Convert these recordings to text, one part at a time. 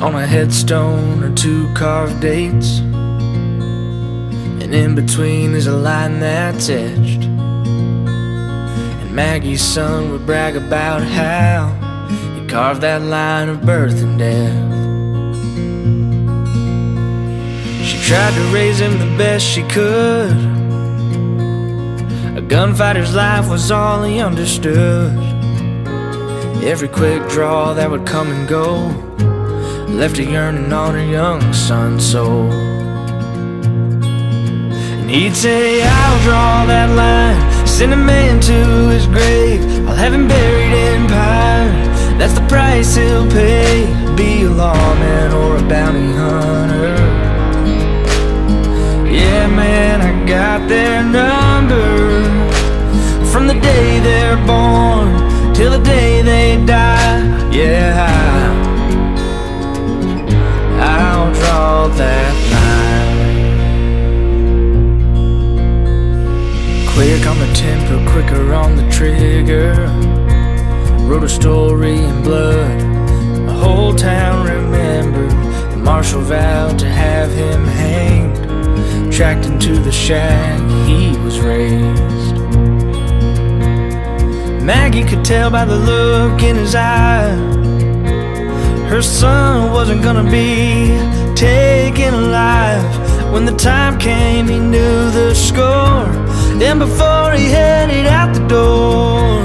On a headstone are two carved dates, and in between is a line that's etched. And Maggie's son would brag about how he carved that line of birth and death. She tried to raise him the best she could. A gunfighter's life was all he understood. Every quick draw that would come and go left a yearning on her young son's soul. And he'd say, I'll draw that line, send a man to his grave, I'll have him buried in pine. That's the price he'll pay, be a lawman or a bounty hunter. Yeah, man, I got their number. From the day they're born till the day they die. Yeah, I'll draw that line. Quick on the tempo, quicker on the trigger. Wrote a story in blood. The whole town remembered. The marshal vowed to have him hanged. Tracked into the shack he was raised. Maggie could tell by the look in his eye her son wasn't gonna be taken alive. When the time came, he knew the score, and before he headed out the door,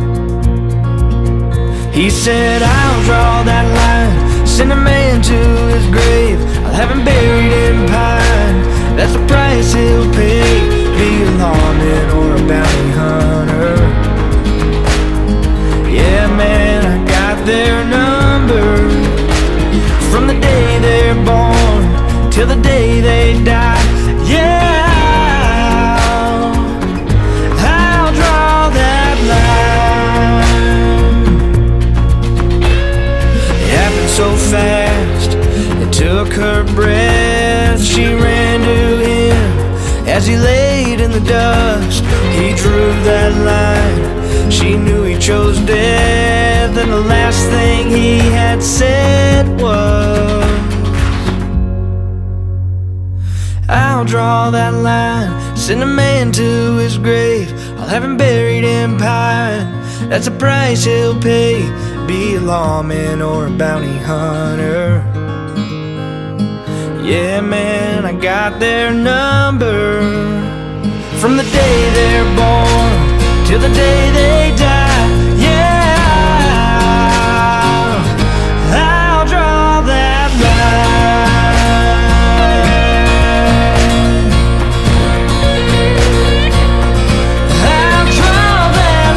he said, I'll draw that line, send a man to his grave, I'll have him buried in pine. That's the price he'll pay, be a lawman or a bounty hunter. Yeah, man, I got their number. From the day they're born till the day they die. Yeah, I'll draw that line. It happened so fast, it took her breath. She ran to him as he laid in the dust. He drew that line, she knew he chose death, and the last thing he had said was, I'll draw that line, send a man to his grave, I'll have him buried in pine. That's the price he'll pay, be a lawman or a bounty hunter. Yeah, man, I got their number. From the day they're born till the day they die. Yeah, I'll draw that line. I'll draw that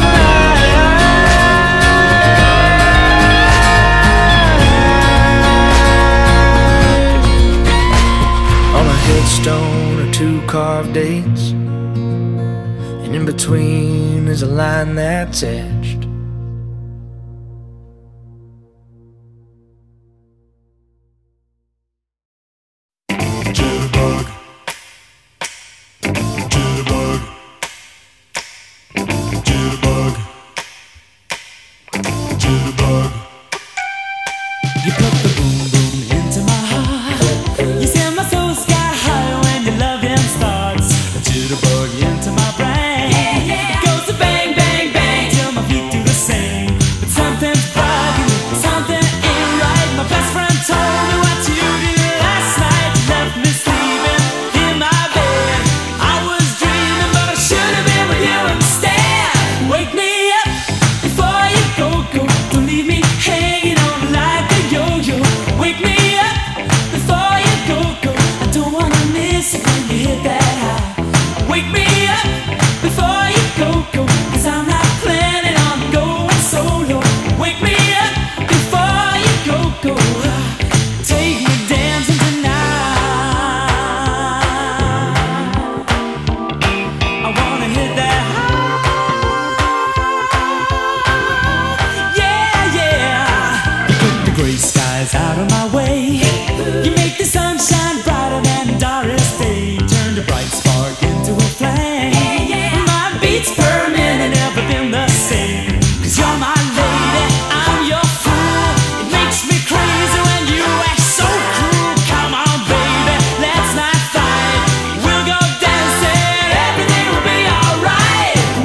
line. On a headstone are two carved dates, and in between is a line that's etched. Jitterbug, jitterbug, jitterbug, jitterbug. You put the boom boom into my heart. You send my soul sky high when your loving starts. A jitterbug into my brain. It goes to bang bang bang till my feet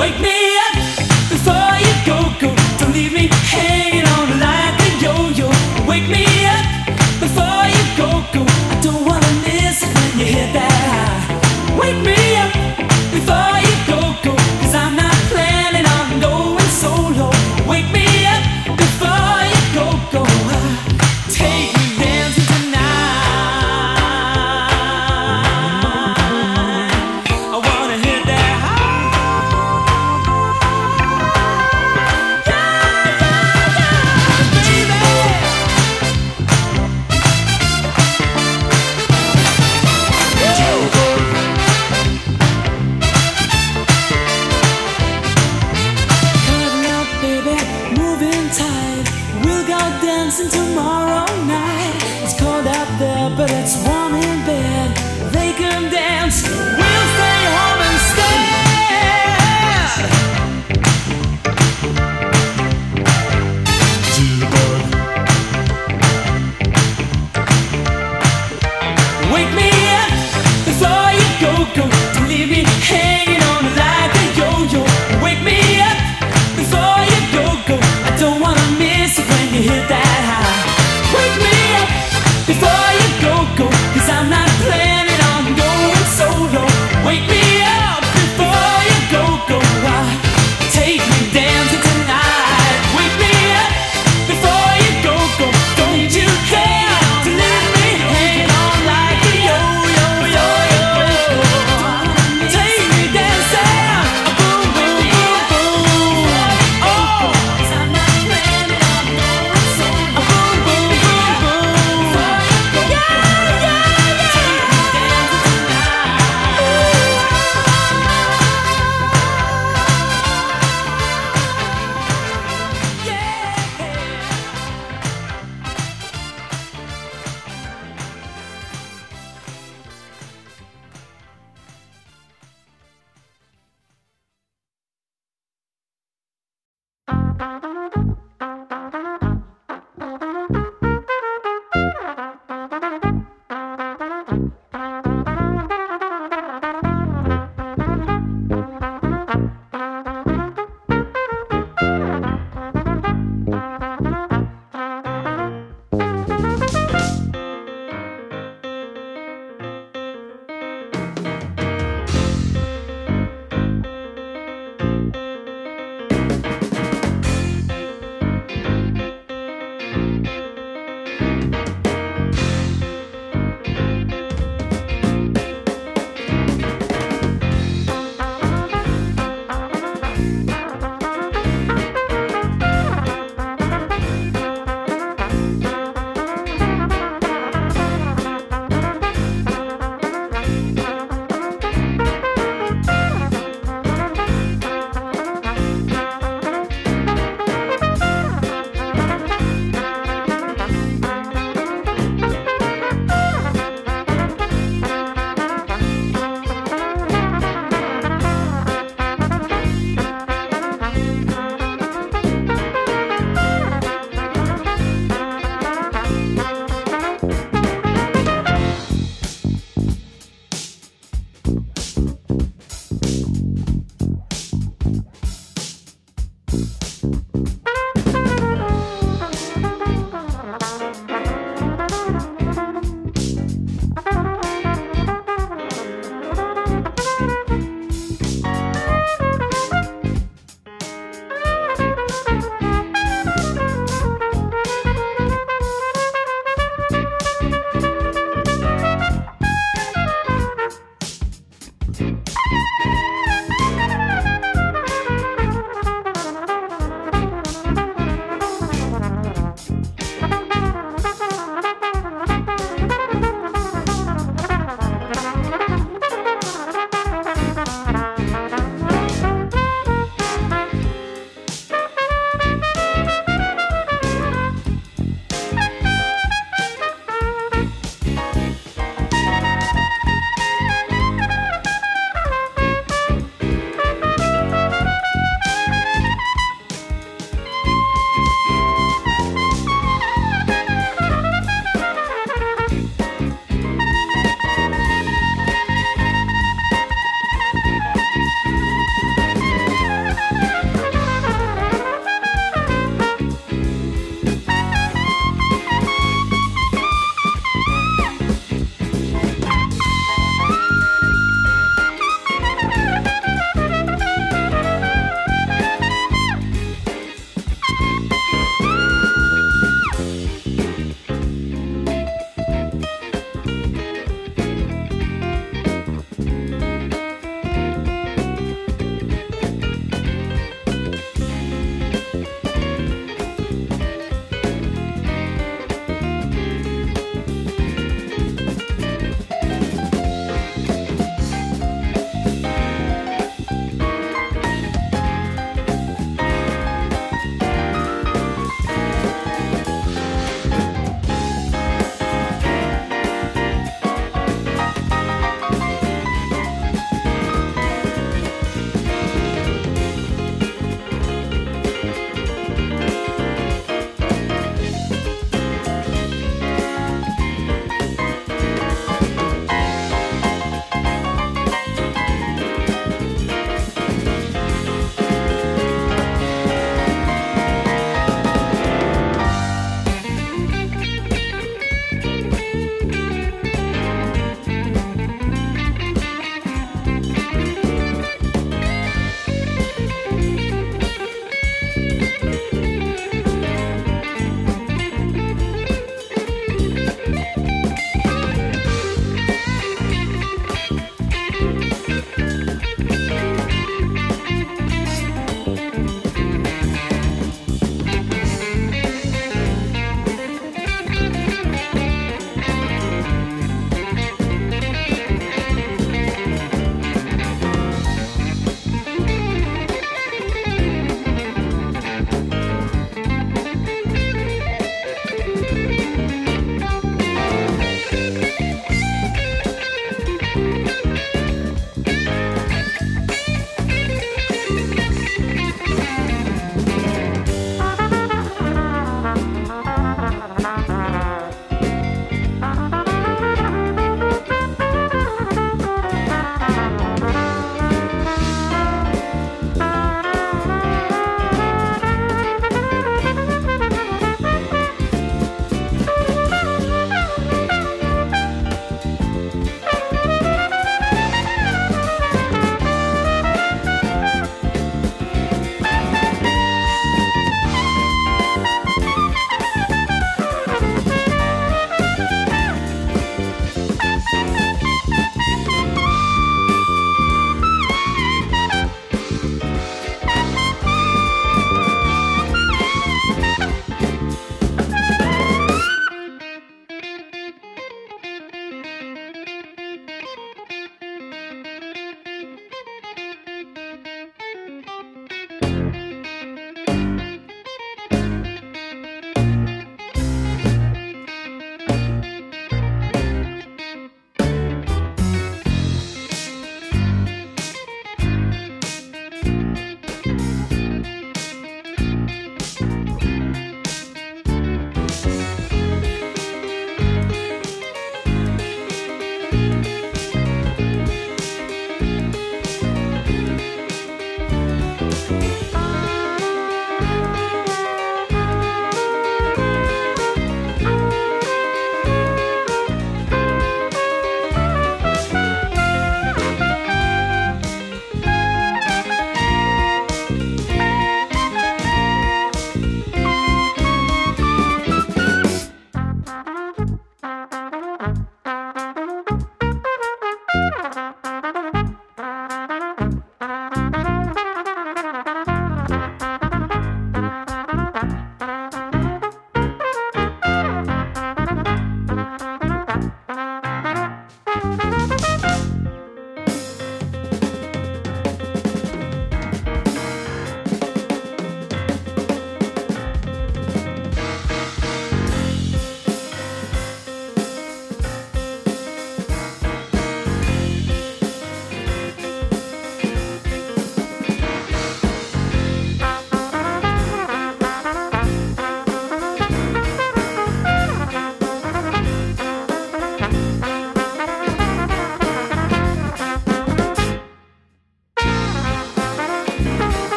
Wake me up before you go, go. Don't leave me hanging on like a yo-yo. Wake me up before you go, go. I don't wanna miss it when you hit that high. Wake me up before you go, go. 'Cause I'm not planning on going solo. Wake me up before you go, go. Take me dancing tonight. I wanna hit that high. Baby. Cuddle up, baby, moving tight. We'll go dancing tomorrow night. It's cold out there, but it's warm in bed. They can dance, we'll stay home instead. Jitterbug, Wake me up before you go, go. Don't leave me hanging on like a yo-yo. Wake me up before you go, go. I don't wanna miss it when you hit that high. Wake me up before you go, go.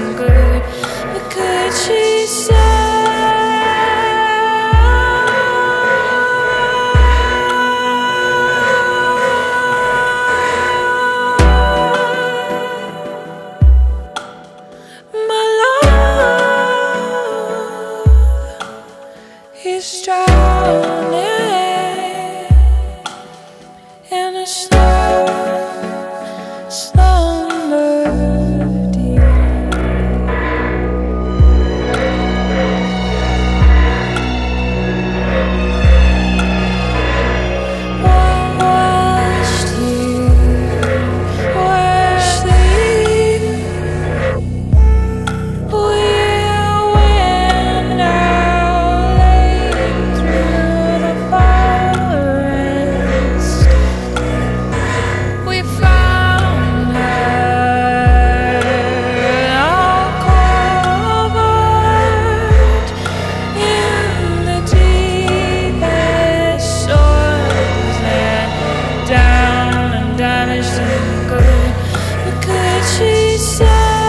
and good. What could she say? My love is drowning in a slow slumber deep. Whilst you were asleep, we went out late through the forest. We found her all covered in the deepest soils, and down and damaged and good. What could she say?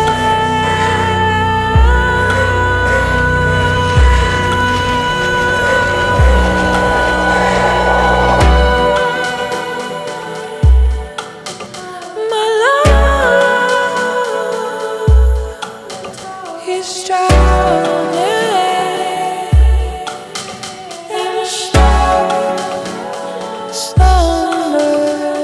My love is drowning in a slow slumber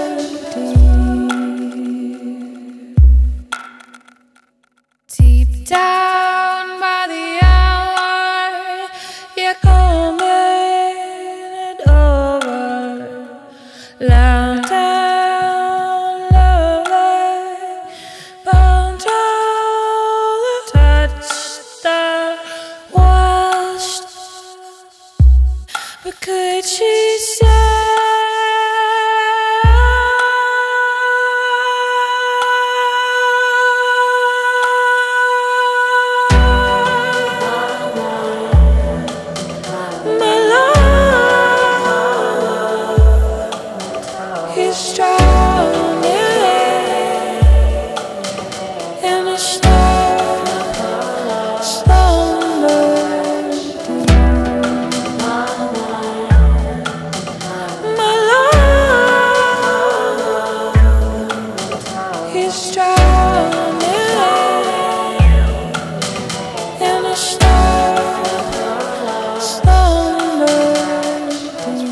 deep down by the hour. You're coming over. Loud down, lovely, bound all the touch that washed. What could she say? My love is drowning in a slow slumber deep. My love is drowning in a slow slumber deep.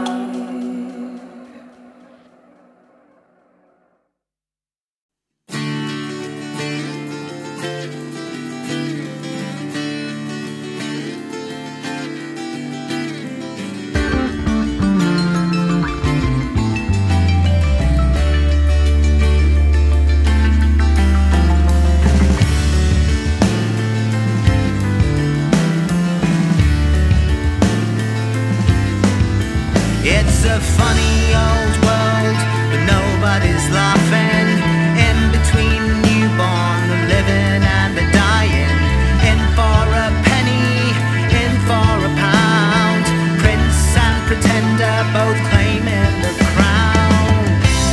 It's a funny old world, but nobody's laughing. In between the newborn, the living and the dying. In for a penny, in for a pound. Prince and pretender both claiming the crown.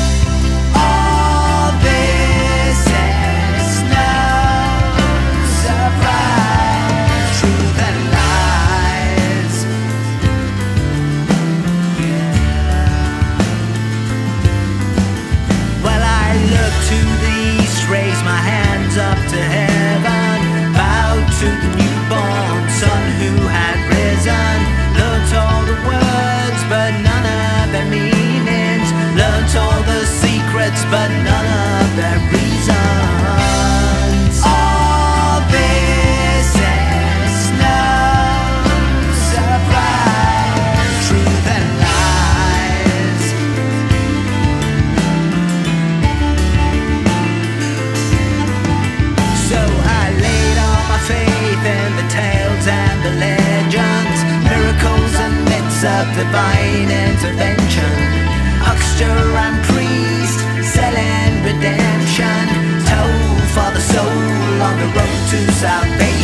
All this is no surprise. Truth and lies. Well, I look to the east, raise my hands up to heaven, bow to the newborn son who had risen. Learnt all the words, but none of their meanings. Learnt all the secrets, but none of their reasons. All this is no surprise. Truth and lies. So I laid all my faith in the tales and the legends, miracles and myths of divine intervention. Huckster and priest selling redemption, toll for the soul on the road to salvation.